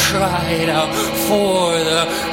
cried out for the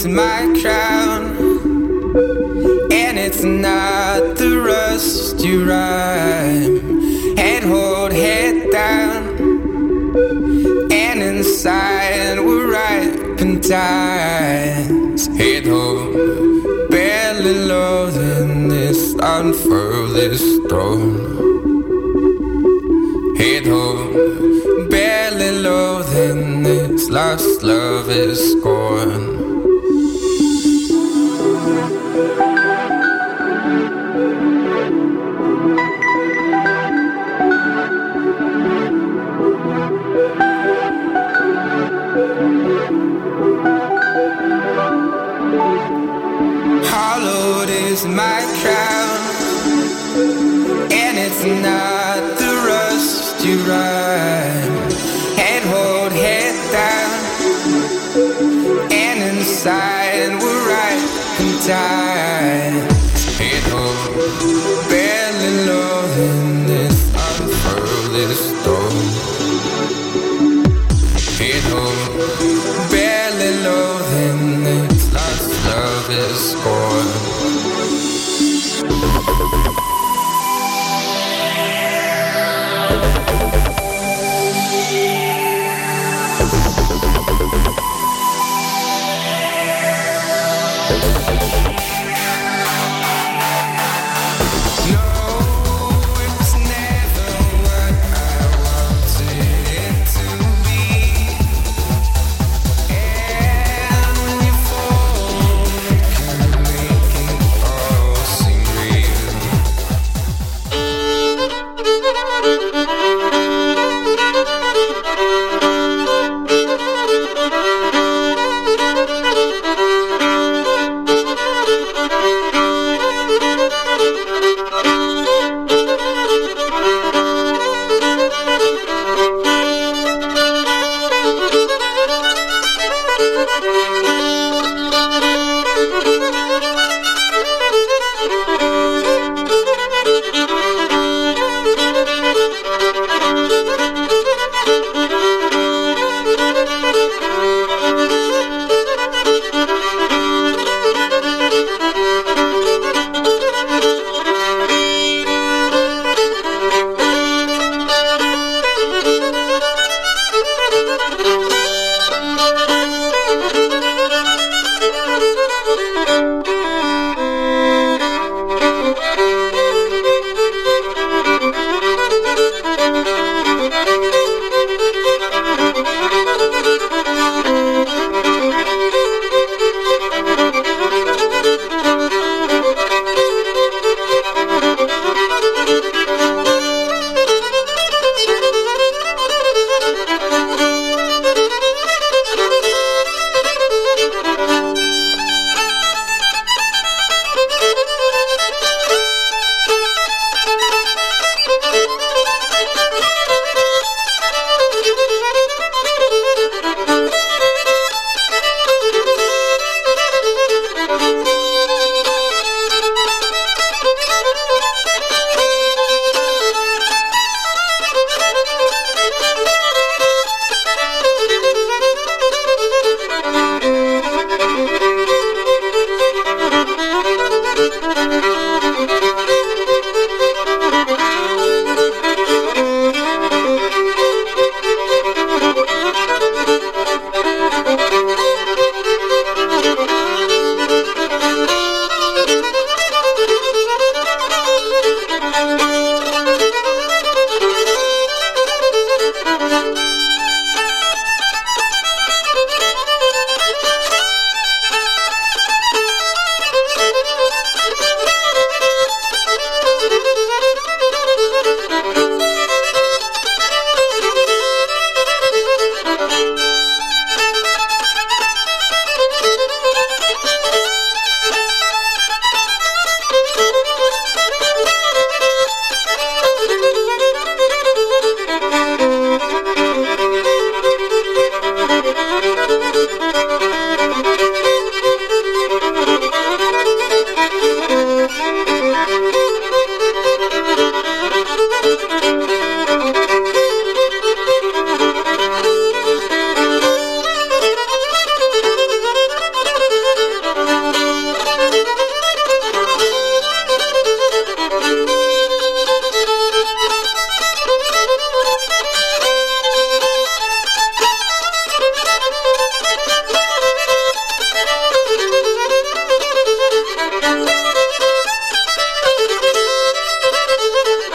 my crown, and it's not the rusty rhyme. Head hold, head down, and inside we're ripe and times. Head hold, barely loathing this unfurl this throne. Head hold, barely loathing this lost love is scorn. Hollowed is my crown, and it's not the rust you rhyme. Head hold, head down, and inside we're right in time. Head hold, barely loathing this unfurl this stone. Head hold, barely loathing this lost love is scorn.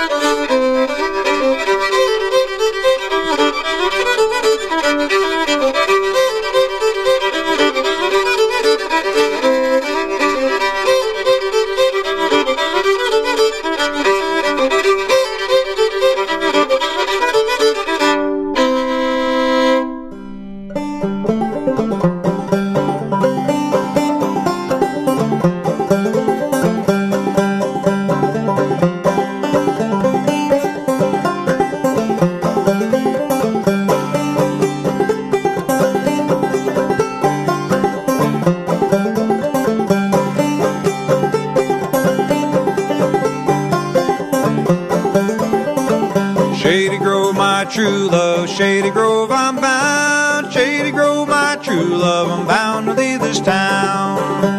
Shady Grove, my true love, Shady Grove, I'm bound. Shady Grove, my true love, I'm bound to leave this town.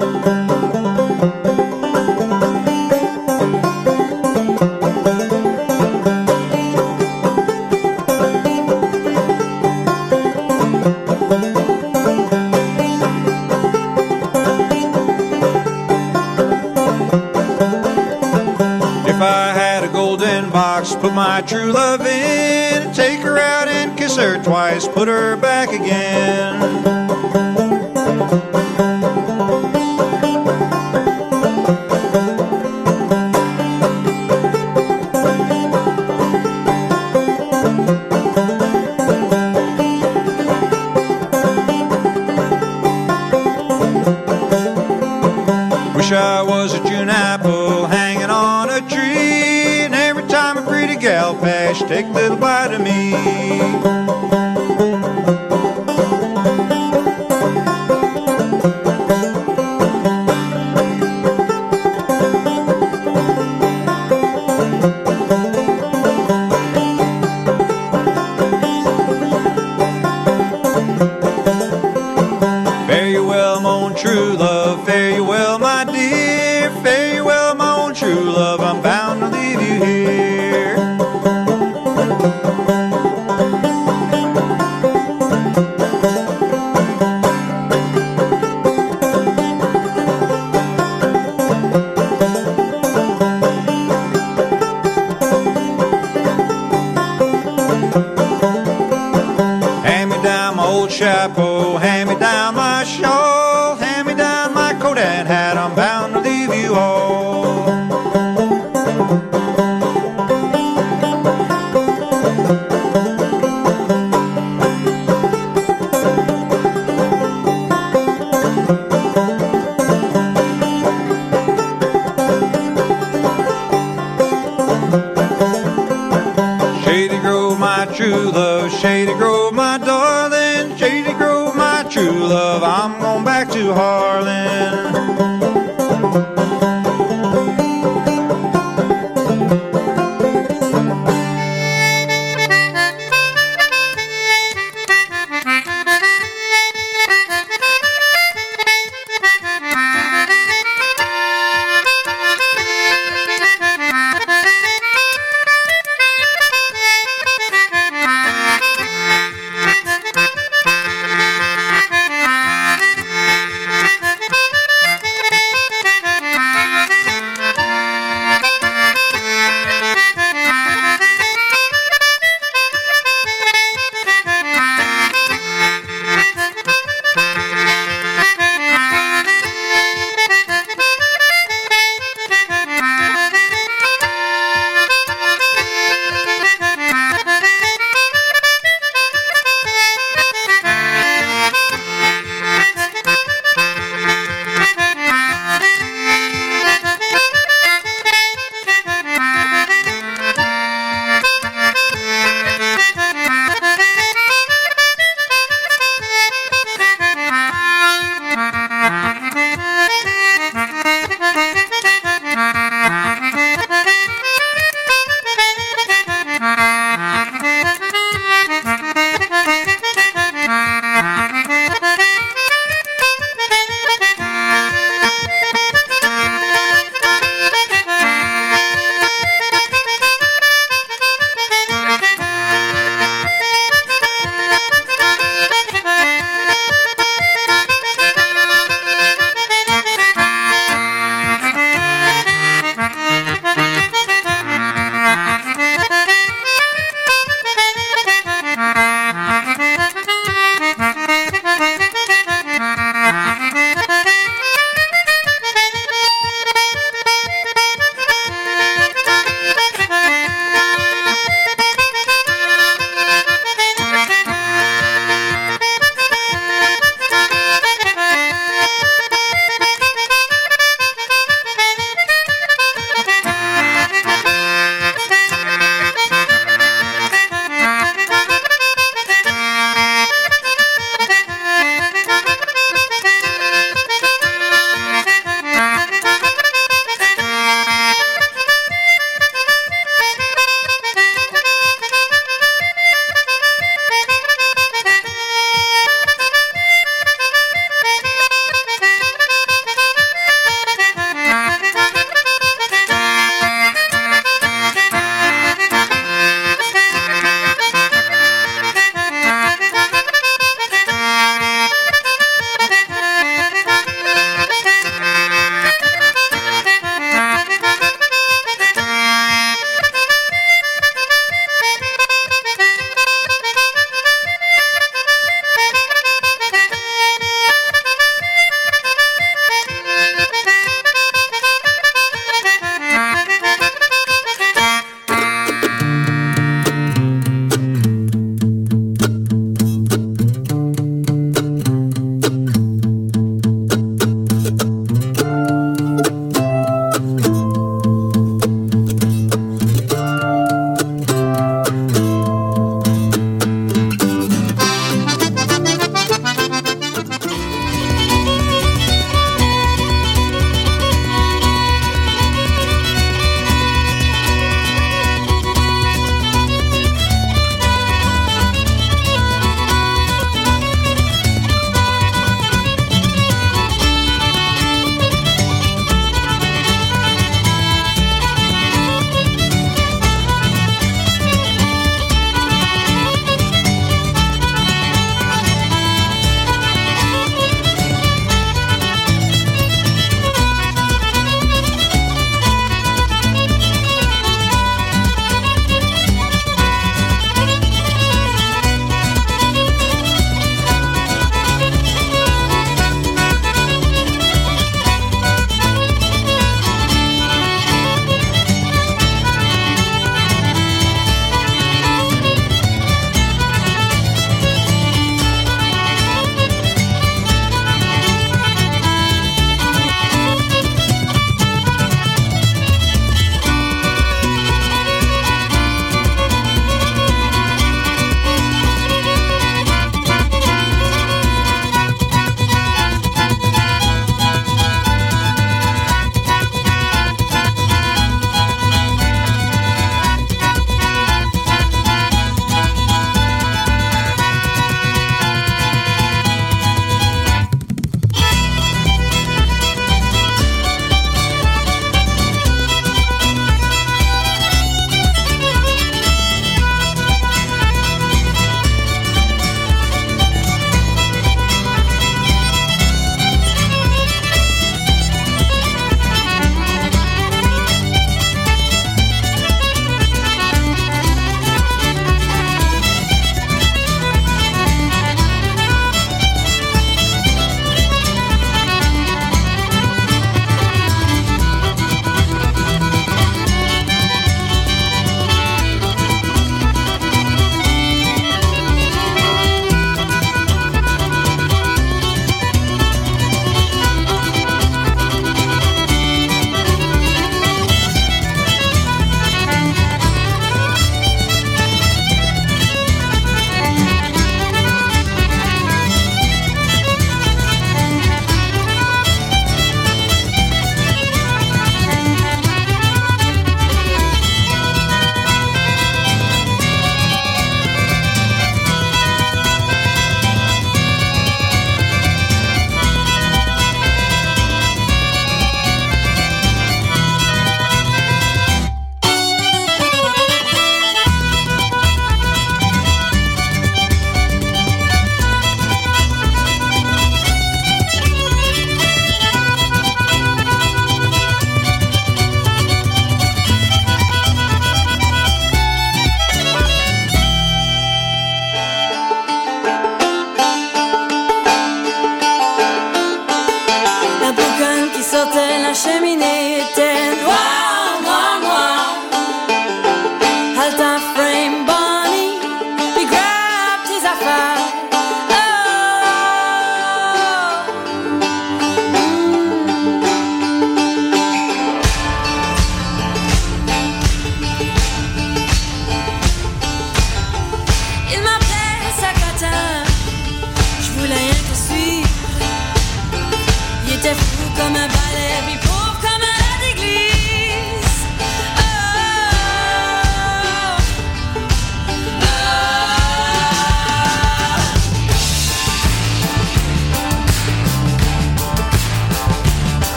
If I had a golden box, put my true love in, take her out and kiss her twice, put her back again. Wish I was a June apple hanging on a tree, and every time a pretty gal passed, take a little bite of me. Fare you well, my own true love, fare you well, my dear, fare you well, my own true love, I'm bound to leave you here. Hand me down my old chapeau, hand me down my shawl, hand me down my coat and hat, I'm bound to leave you all. Shady Grove, my true love, Shady Grove, my darling, Shady Grove, my true love, I'm going back to Harlan.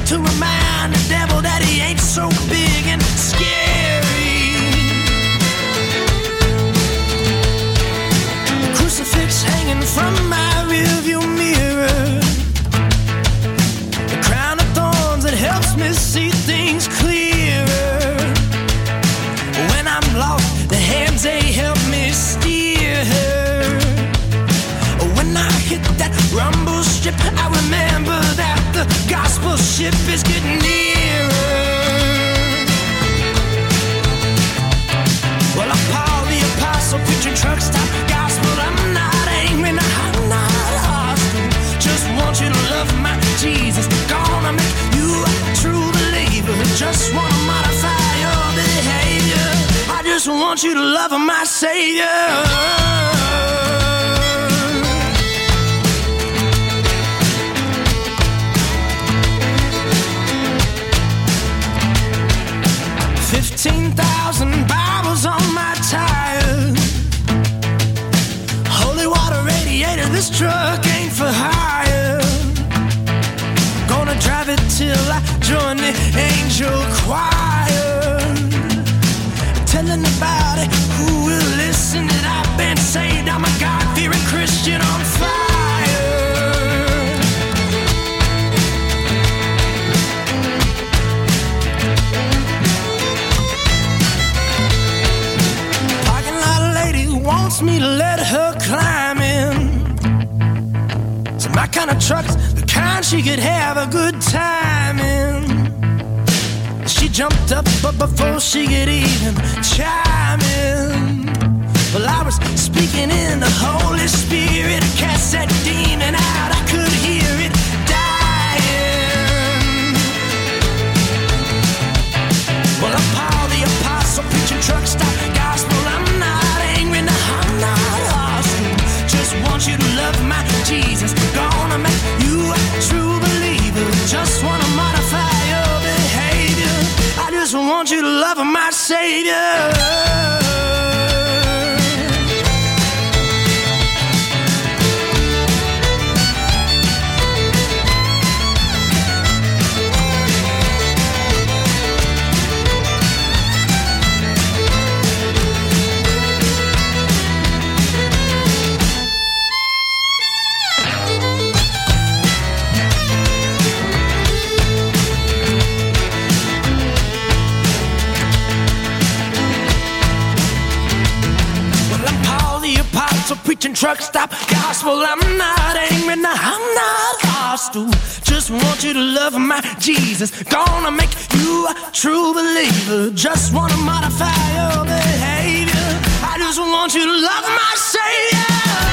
to remind the devil that he ain't so big and scary. Crucifix hanging from my rearview mirror, the crown of thorns that helps me see things clearer. When I'm lost, the hands they help me steer her. When I hit that rumble strip, I remember that the gospel ship is getting nearer. Well, I'm Paul the Apostle, preaching truck stop gospel. I'm not angry, no, I'm not hostile. Just want you to love my Jesus. Gonna make you a true believer. Just wanna modify your behavior. I just want you to love my Savior. $15,000 Bibles on my tires. Holy water radiator, this truck ain't for hire. Gonna drive it till I join the angel choir. Tell anybody who will listen that I've been saved. I'm a God-fearing Christian on fire. Parking lot lady wants me to let her climb in. So my kind of truck's the kind she could have a good time in. She jumped up, but before she could even chime in, well, I was speaking in the Holy Spirit. I cast that demon out, I could hear it dying. Well, I'm Paul the Apostle, preaching truck stop gospel. I'm not angry, no, I'm not hostile. Just want you to love my Jesus. Gonna make you a true believer. Just wanna modify your behavior. I just want you to love my Savior. Preaching truck stop gospel. I'm not angry, no, I'm not hostile. Just want you to love my Jesus. Gonna make you a true believer. Just wanna modify your behavior. I just want you to love my Savior.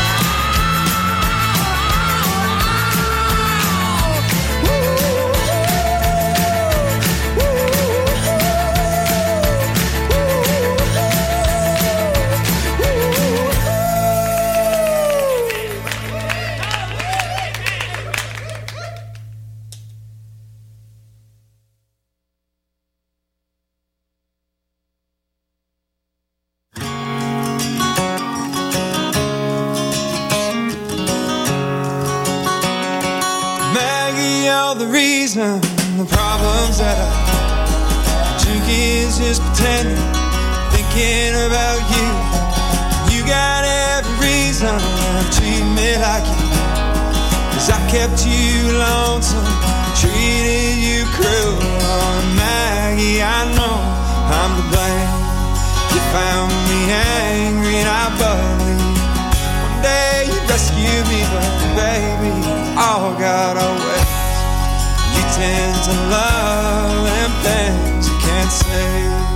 The problems that I drink is just pretending, thinking about you. You got every reason to treat me like you, 'cause I kept you lonesome, treated you cruel. Oh, Maggie, I know I'm to blame. You found me angry and I believe one day you'd rescue me, but baby, all got away. You tend to love them things you can't say.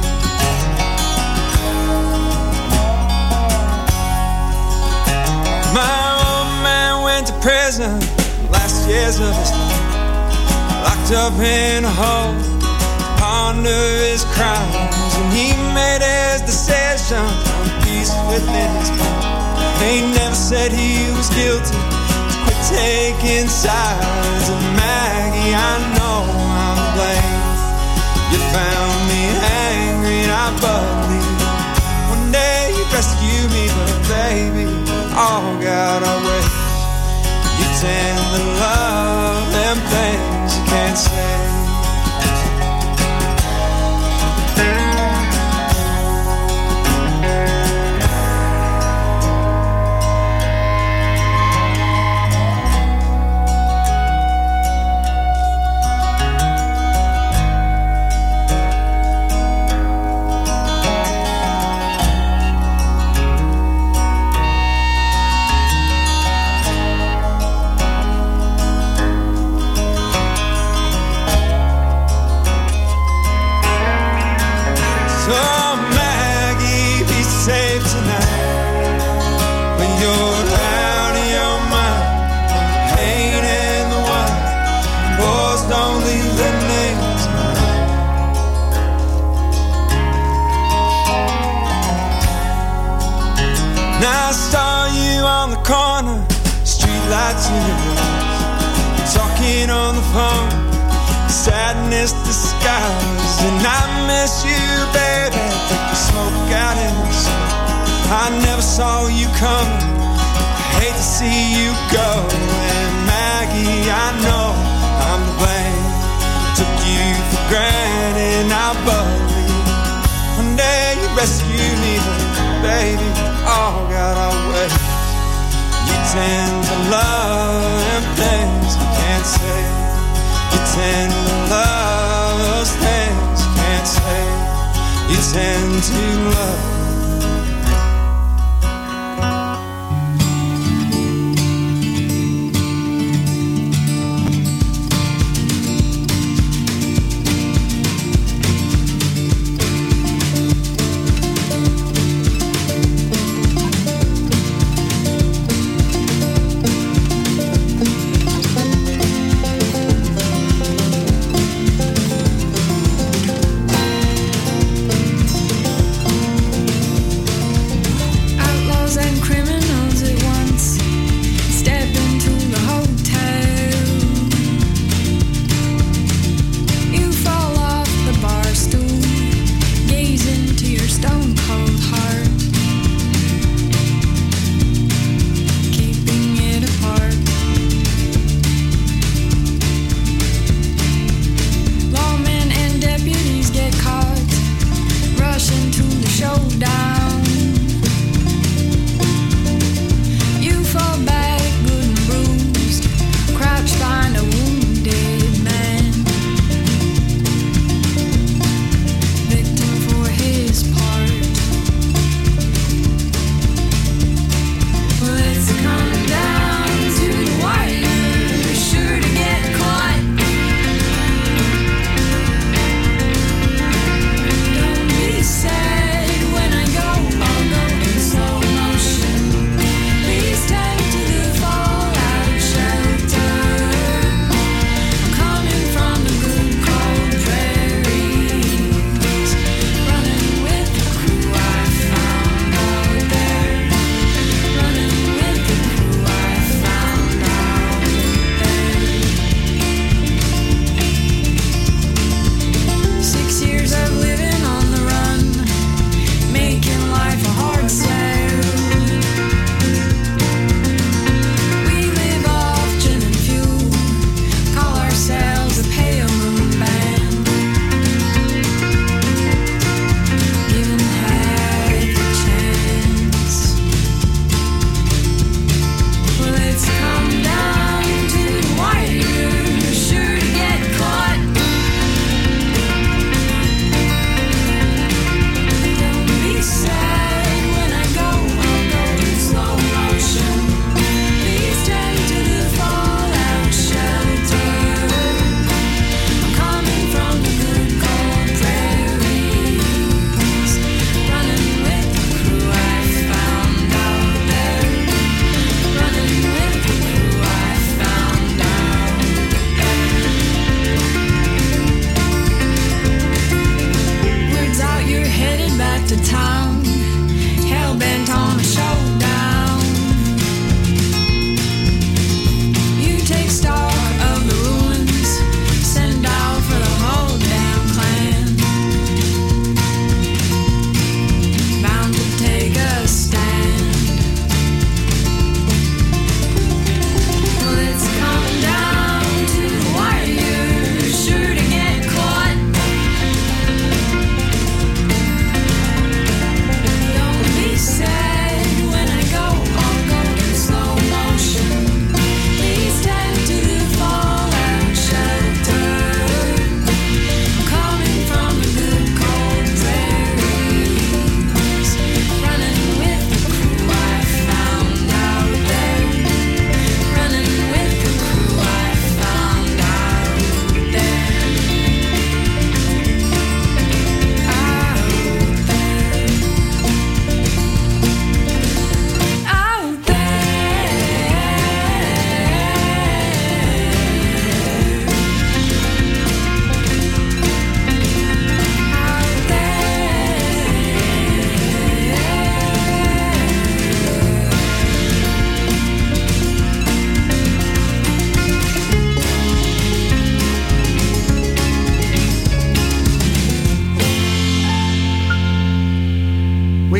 My old man went to prison last year's of his life, locked up in a hole to ponder his crimes, and he made his decision, found peace within his heart. He never said he was guilty, quit taking sides. And Maggie, I know I'm to blame. You found me angry and I believe one day you'd rescue me, but baby, all got away. You tend to love them things you can't say. don't leave their names behind. Now I saw you on the corner, streetlights in your eyes, talking on the phone, sadness disguised. And I miss you, baby, the smoke out in the sun. I never saw you coming, I hate to see you go. And Maggie, I know I'm to blame, took you for granted. I believe one day you rescue me, but baby, all got our ways. You tend to love them things you can't say. You tend to love those things you can't say. You tend to love.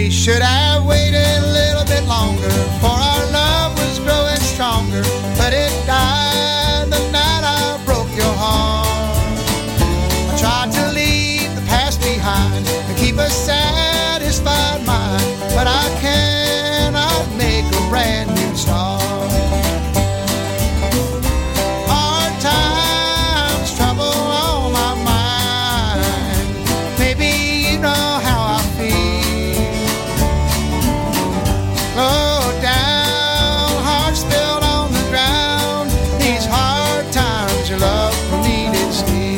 We should have waited a little bit longer, for our love was growing stronger, but it died the night I broke your heart. I tried to leave the past behind and keep a satisfied mind, but I cannot make a brand new start. Hard times, trouble on my mind. Maybe you know how I feel. Low down, heart spilled on the ground. These hard times, your love for me did steal.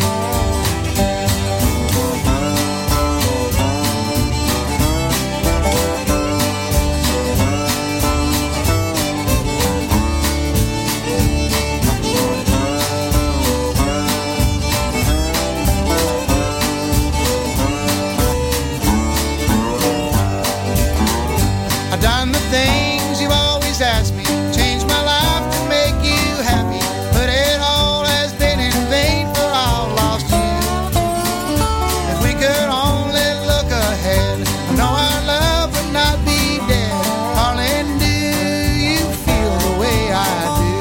I've done the things you've always asked me, changed my life to make you happy, but it all has been in vain, for I've lost you. If we could only look ahead, I know our love would not be dead. Darling, do you feel the way I do?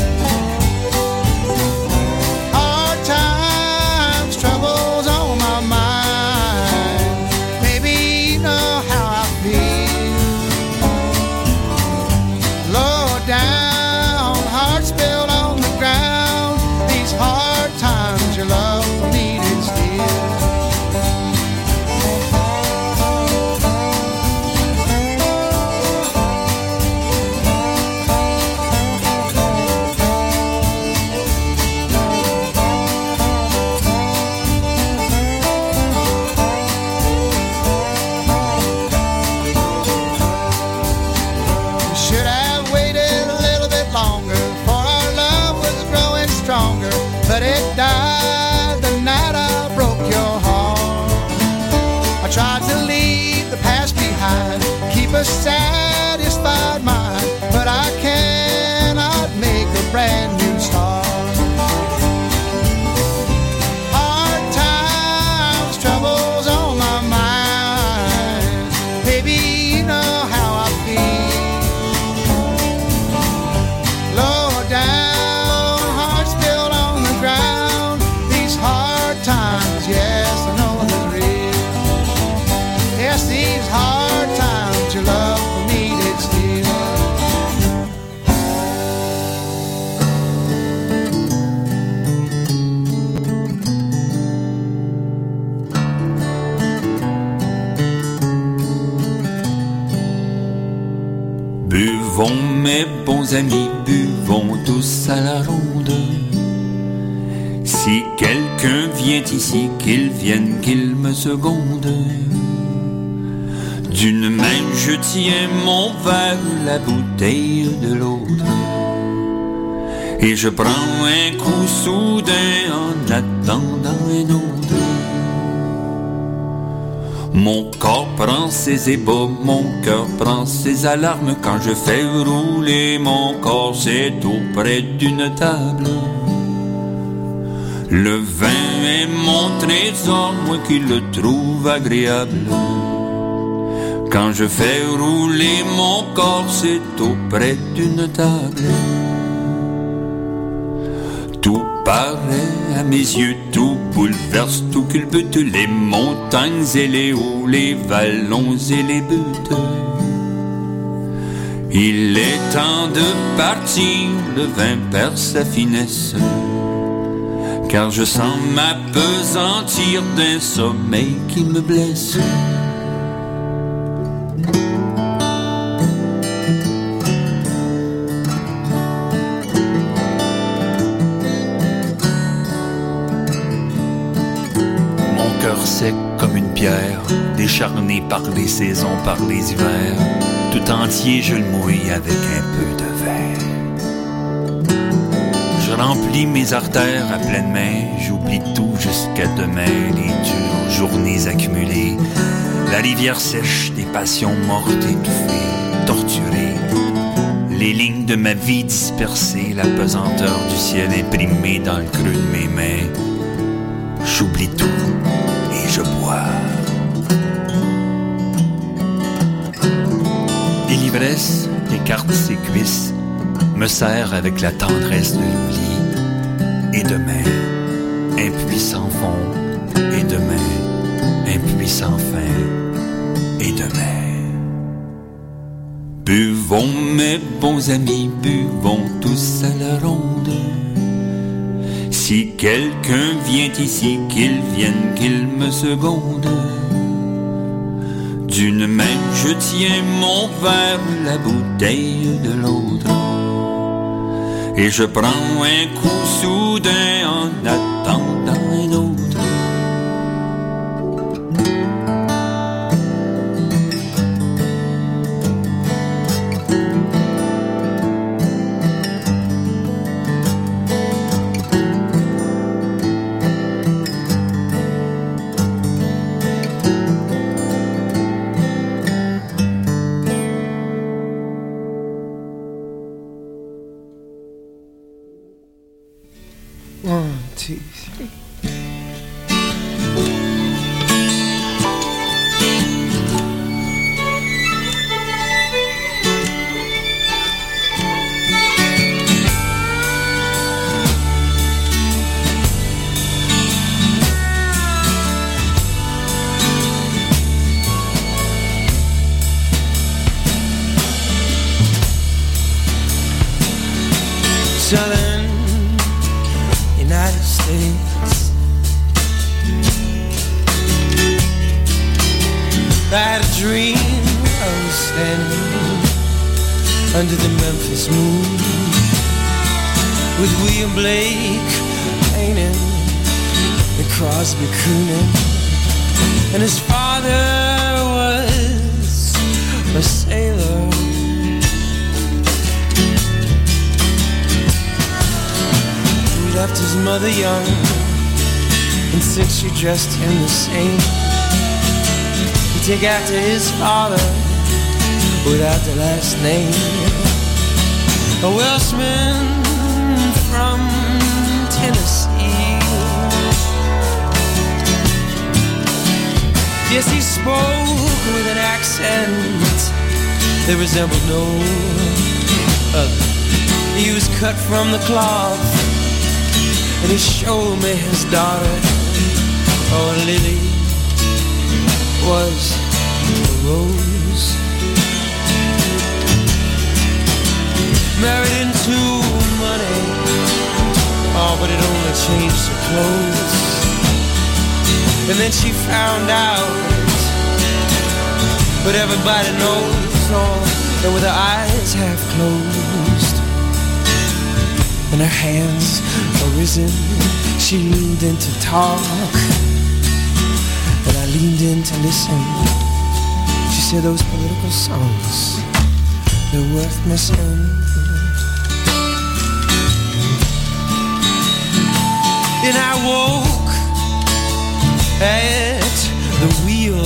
Hard times, troubles on my mind. Maybe you know how I feel. Low down, heart spilled on the ground. These hard times, your love for me did steal. We should have waited a little bit longer, for our love was growing stronger, but it died the night I broke your heart. I tried to leave the past behind, keep a satisfied mind, but I cannot make a brand new start. Hard times, troubles on my mind. Baby, you know how I feel. Low down, heart spilled on the ground. These hard times, yes, I know they're real. Yes, these hard times, your love for me did steal. Buvons mes bons amis, buvons tous à la ronde. Si quelqu'un vient ici, qu'il vienne, qu'il me seconde. D'une main je tiens mon verre, la bouteille de l'autre, et je prends un coup soudain en attendant un autre. Mon corps prend ses ébats, mon cœur prend ses alarmes. Quand je fais rouler mon corps, c'est auprès d'une table. Le vin est mon trésor, moi qui le trouve agréable. Quand je fais rouler mon corps, c'est auprès d'une table. Tout paraît à mes yeux, tout bouleverse, tout culbute, les montagnes et les hauts, les vallons et les buttes. Il est temps de partir, le vin perd sa finesse, car je sens m'appesantir d'un sommeil qui me blesse. Sec comme une pierre, décharné par les saisons, par les hivers, tout entier je le mouille avec un peu de verre. Je remplis mes artères à pleine main, j'oublie tout jusqu'à demain, les dures journées accumulées, la rivière sèche des passions mortes, étouffées, torturées, les lignes de ma vie dispersées, la pesanteur du ciel imprimée dans le creux de mes mains. J'oublie tout et je bois. caresse, écarte ses cuisses, me serre avec la tendresse de l'oubli. Et demain, impuissant fond, et demain, impuissant fin, et demain. Buvons, mes bons amis, buvons tous à la ronde. Si quelqu'un vient ici, qu'il vienne, qu'il me seconde. D'une main, je tiens mon verre, la bouteille de l'autre. Et je prends un coup soudain en attendant un autre. Southern United States. I had a dream I was standing under the Memphis moon with William Blake painting and Crosby crooning, and his father was a sailor. Left his mother young, and since she dressed him the same, he'd take after his father without the last name. A Welshman from Tennessee. Yes, he spoke with an accent that resembled no other. He was cut from the cloth, and he showed me his daughter. Oh, Lily was a rose, married into money. Oh, but it only changed her clothes. And then she found out, but everybody knows. Oh, and with her eyes half closed and her hands arisen, she leaned in to talk, and I leaned in to listen. She said, those political songs, they're worth missing. And I woke at the wheel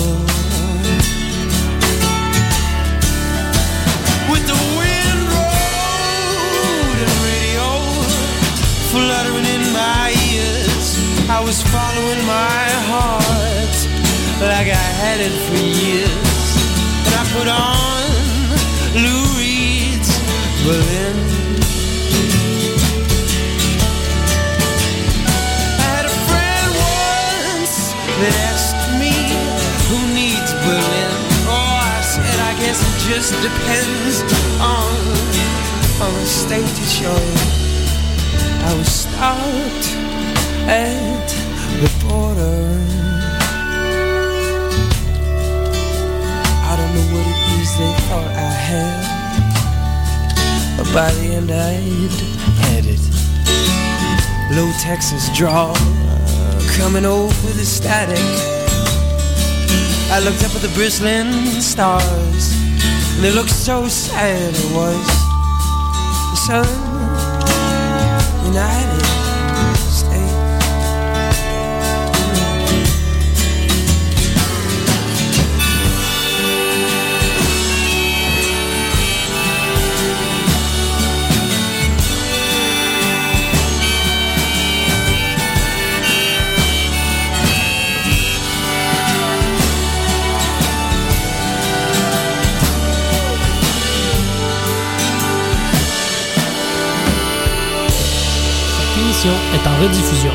with the wind road and radio fluttering in my ears. I was following my heart like I had it for years. And I put on Lou Reed's Berlin. I had a friend once that asked me, who needs Berlin? Oh, I said, I guess it just depends on the state to show. I was stopped at the border. I don't know what it is they thought I had, but by the end I'd had it. Low Texas drawl coming over the static. I looked up at the bristling stars, and they looked so sad. It was the sun United States. en rediffusion.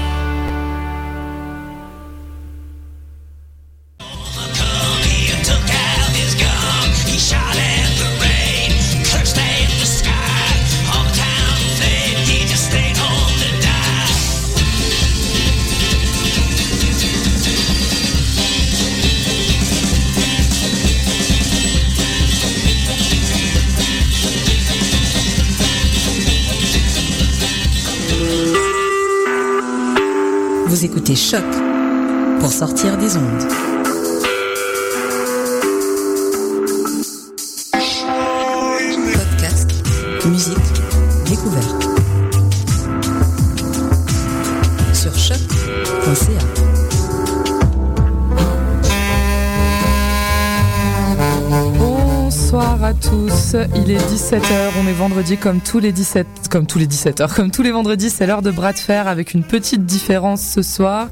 Vous écoutez Choc pour sortir des ondes. Podcast, musique, découverte. Sur choc.ca. Bonsoir à tous, il est 17h, on est vendredi comme tous les vendredis, c'est l'heure de bras de fer avec une petite différence ce soir.